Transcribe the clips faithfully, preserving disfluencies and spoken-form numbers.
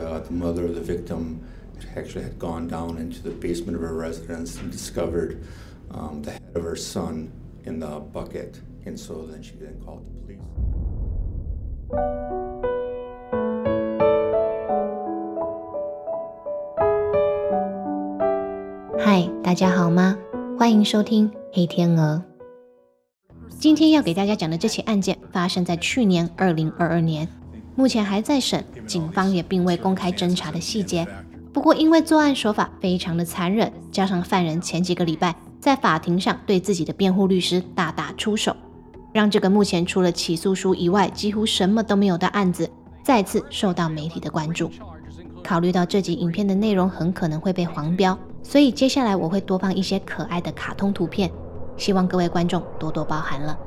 uh, the mother of the victim actually had gone down into the basement of her residence and discovered um, the head of her son in the bucket. And so then she then called the police. 嗨，大家好吗？欢迎收听黑天鹅。今天要给大家讲的这起案件发生在去年二零二二年，目前还在审，警方也并未公开侦查的细节。不过因为作案手法非常的残忍，加上犯人前几个礼拜在法庭上对自己的辩护律师大打出手，让这个目前除了起诉书以外几乎什么都没有的案子再次受到媒体的关注。考虑到这集影片的内容很可能会被黄标，所以接下来我会多放一些可爱的卡通图片，希望各位观众多多包涵了。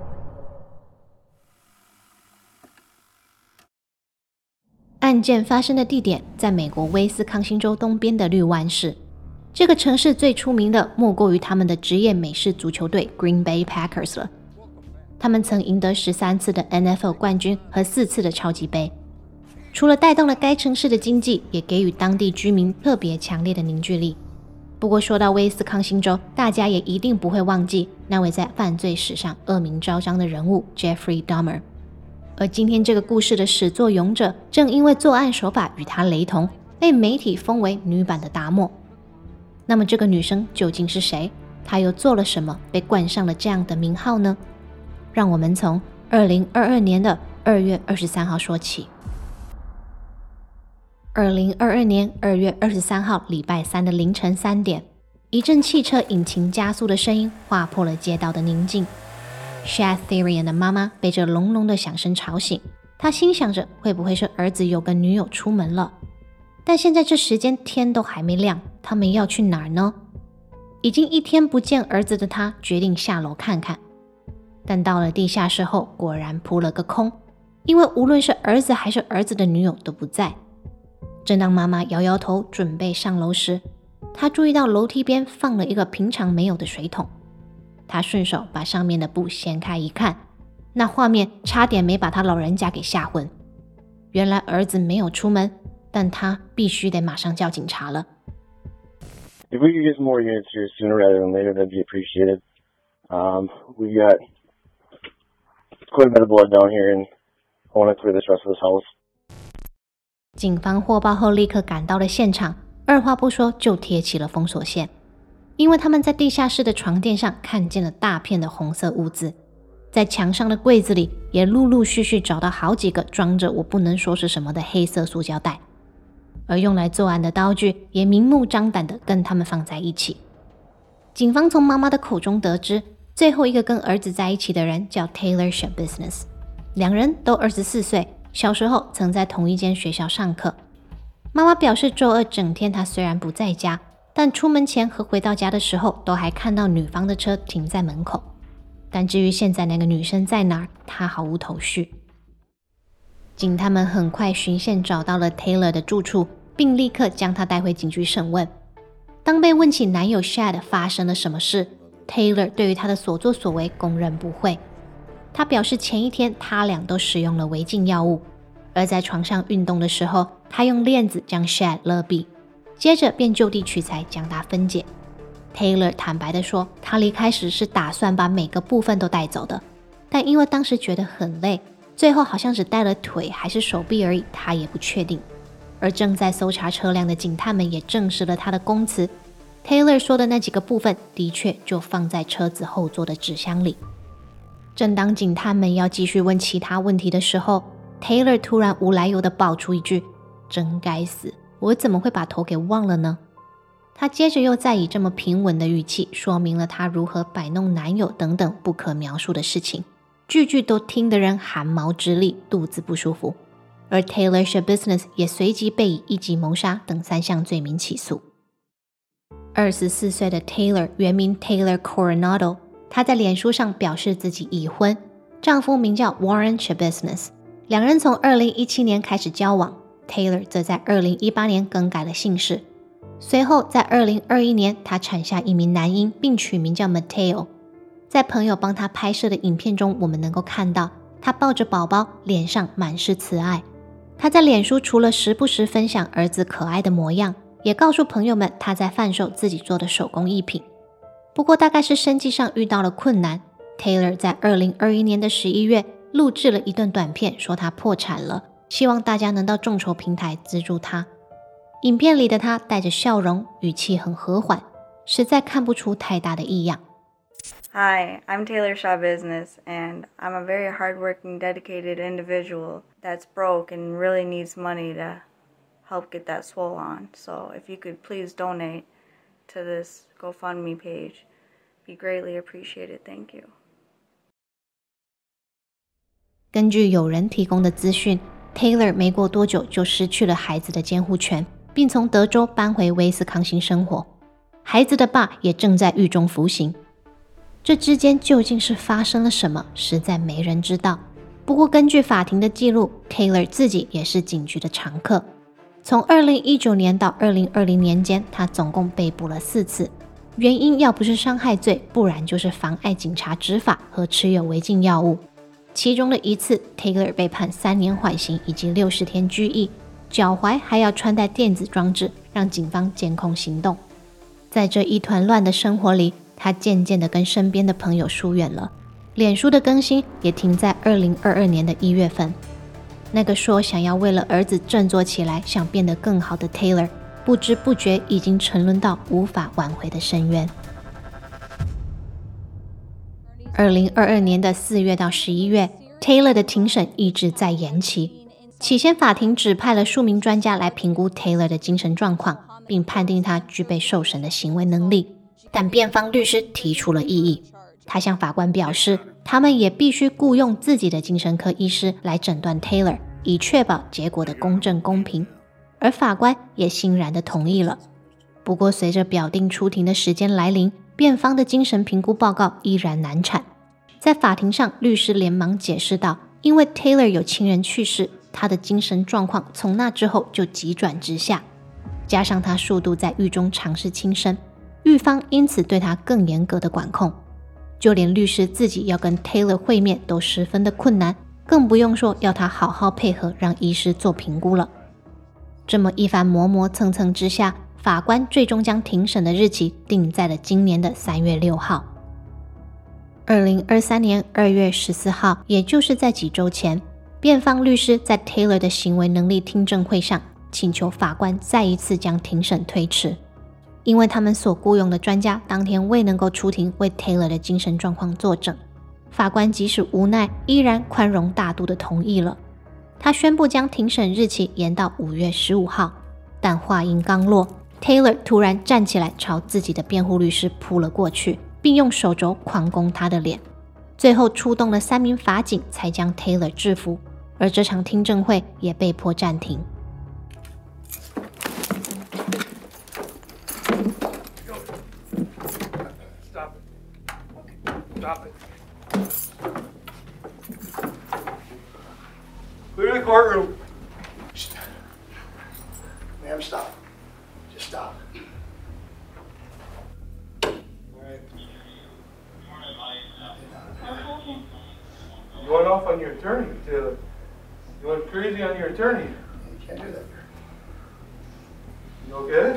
案件发生的地点在美国威斯康星州东边的绿湾市，这个城市最出名的莫过于他们的职业美式足球队 Green Bay Packers 了。他们曾赢得十三次的 N F L 冠军和四次的超级杯，除了带动了该城市的经济，也给予当地居民特别强烈的凝聚力。不过说到威斯康星州，大家也一定不会忘记那位在犯罪史上恶名昭彰的人物 Jeffrey Dahmer。而今天这个故事的始作俑者，正因为作案手法与他雷同，被媒体封为女版的达莫。那么这个女生究竟是谁？她又做了什么，被冠上了这样的名号呢？让我们从二零二二年的二月二十三号说起。二零二二年二月二十三号礼拜三的凌晨三点，一阵汽车引擎加速的声音划破了街道的宁静。Shad Therian 的妈妈被这隆隆的响声吵醒，她心想着会不会是儿子有个女友出门了。但现在这时间天都还没亮，他们要去哪儿呢？已经一天不见儿子的他决定下楼看看，但到了地下室后果然扑了个空，因为无论是儿子还是儿子的女友都不在。正当妈妈摇摇头准备上楼时，她注意到楼梯边放了一个平常没有的水桶。她顺手把上面的布掀开一看，那画面差点没把她老人家给吓昏。原来儿子没有出门，但他必须得马上叫警察了。 If we could get some more units here sooner rather than later, that'd be appreciated. Um, we got quite a bit of blood down here, and I want to clear this rest of this house. 警方获报后立刻赶到了现场，二话不说就贴起了封锁线，因为他们在地下室的床垫上看见了大片的红色污渍，在墙上的柜子里也陆陆续续找到好几个装着我不能说是什么的黑色塑胶袋，而用来作案的刀具也明目张胆地跟他们放在一起。警方从妈妈的口中得知，最后一个跟儿子在一起的人叫 Taylor Schabusiness， 两人都二十四岁，小时候曾在同一间学校上课。妈妈表示周二整天她虽然不在家，但出门前和回到家的时候都还看到女方的车停在门口。但至于现在那个女生在哪儿，她毫无头绪。警探们很快循线找到了 Taylor 的住处，并立刻将她带回警局审问。当被问起男友 Shad 发生了什么事， Taylor 对于他的所作所为供认不讳。他表示前一天他俩都使用了违禁药物，而在床上运动的时候，他用链子将 Shad 勒毙，接着便就地取材将它分解。 Taylor 坦白地说，他离开时是打算把每个部分都带走的，但因为当时觉得很累，最后好像只带了腿还是手臂而已，他也不确定。而正在搜查车辆的警探们也证实了他的供词， Taylor 说的那几个部分的确就放在车子后座的纸箱里。正当警探们要继续问其他问题的时候， Taylor 突然无来由地爆出一句，真该死，我怎么会把头给忘了呢？他接着又再以这么平稳的语气说明了他如何摆弄男友等等不可描述的事情，句句都听得人汗毛直立，肚子不舒服。而 Taylor Schabusiness 也随即被以一级谋杀等三项罪名起诉。二十四岁的 Taylor 原名 Taylor Coronado， 她在脸书上表示自己已婚，丈夫名叫 Warren Schabusiness， 两人从二零一七年开始交往， Taylor 则在二零一八年更改了姓氏。随后在二零二一年她产下一名男婴，并取名叫 Mateo。 在朋友帮她拍摄的影片中，我们能够看到她抱着宝宝，脸上满是慈爱。 他在脸书除了时不时分享儿子可爱的模样，也告诉朋友们他在贩售自己做的手工艺品。不过大概是生计上遇到了困难， Taylor 在二零二一年的十一月录制了一段短片，说他破产了，希望大家能到众筹平台资助他。影片里的他带着笑容，语气很和缓，实在看不出太大的异样。 Hi, I'm Taylor Shaw Business, and I'm a very hardworking, dedicated individual that's broke and really needs money to help get that swole on. So if you could please donate to this GoFundMe page, be greatly appreciated. Thank you. 根据有人提供的资讯， Taylor 没过多久就失去了孩子的监护权，并从德州搬回威斯康星生活。孩子的爸也正在狱中服刑。这之间究竟是发生了什么，实在没人知道。不过根据法庭的记录， Taylor 自己也是警局的常客。从二零一九年到二零二零年间，他总共被捕了四次，原因要不是伤害罪，不然就是妨碍警察执法和持有违禁药物。其中的一次 Taylor 被判三年缓刑以及六十天拘役，脚踝还要穿戴电子装置，让警方监控行动。在这一团乱的生活里，他渐渐地跟身边的朋友疏远了，脸书的更新也停在二零二二年的一月份。那个说想要为了儿子振作起来，想变得更好的 Taylor， 不知不觉已经沉沦到无法挽回的深渊。二零二二年的四月到十一月， Taylor 的庭审一直在延期。起先法庭指派了数名专家来评估 Taylor 的精神状况，并判定他具备受审的行为能力。但辩方律师提出了异议，他向法官表示，他们也必须雇用自己的精神科医师来诊断 Taylor， 以确保结果的公正公平。而法官也欣然地同意了。不过随着表定出庭的时间来临，辩方的精神评估报告依然难产。在法庭上，律师连忙解释道，因为 Taylor 有亲人去世，他的精神状况从那之后就急转直下，加上他数度在狱中尝试轻生，狱方因此对他更严格的管控，就连律师自己要跟 Taylor 会面都十分的困难，更不用说要他好好配合让医师做评估了。这么一番磨磨蹭蹭之下，法官最终将庭审的日期定在了今年的三月六号。二零二三年二月十四号，也就是在几周前，辩方律师在 Taylor 的行为能力听证会上请求法官再一次将庭审推迟，因为他们所雇佣的专家当天未能够出庭为 Taylor 的精神状况作证。法官即使无奈，依然宽容大度地同意了。他宣布将庭审日期延到五月十五号，但话音刚落， Taylor 突然站起来朝自己的辩护律师扑了过去，并用手肘狂攻他的脸，最后出动了三名法警才将 Taylor 制服，而这场听证会也被迫暂停。 Stop it. Clear the courtroom. Stop. Ma'am, stop. Just stop. All right. You went off on your attorney, Taylor. You went crazy on your attorney. You can't do that. You okay?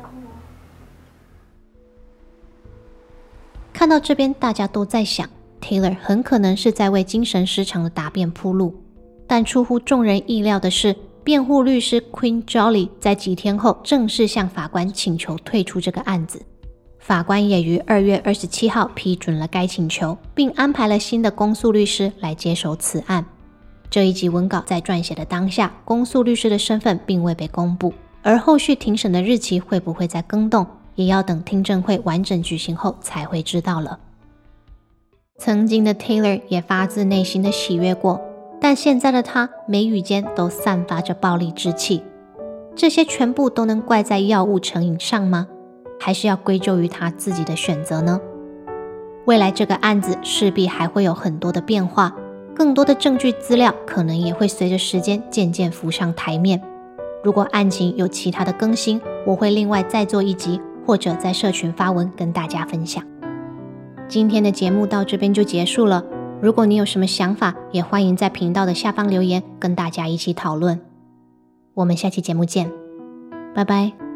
看到这边，大家都在想 Taylor 很可能是在为精神失常的答辩铺路，但出乎众人意料的是，辩护律师 Queen Jolly 在几天后正式向法官请求退出这个案子。法官也于二月二十七号批准了该请求，并安排了新的公诉律师来接手此案。这一集文稿在撰写的当下，公诉律师的身份并未被公布，而后续庭审的日期会不会再更动，也要等听证会完整举行后才会知道了。曾经的 Taylor 也发自内心的喜悦过，但现在的他眉宇间都散发着暴力之气。这些全部都能怪在药物成瘾上吗？还是要归咎于他自己的选择呢？未来这个案子势必还会有很多的变化，更多的证据资料可能也会随着时间渐渐浮上台面。如果案情有其他的更新，我会另外再做一集，或者在社群发文跟大家分享。今天的节目到这边就结束了，如果你有什么想法，也欢迎在频道的下方留言跟大家一起讨论。 我们下期节目见，拜拜。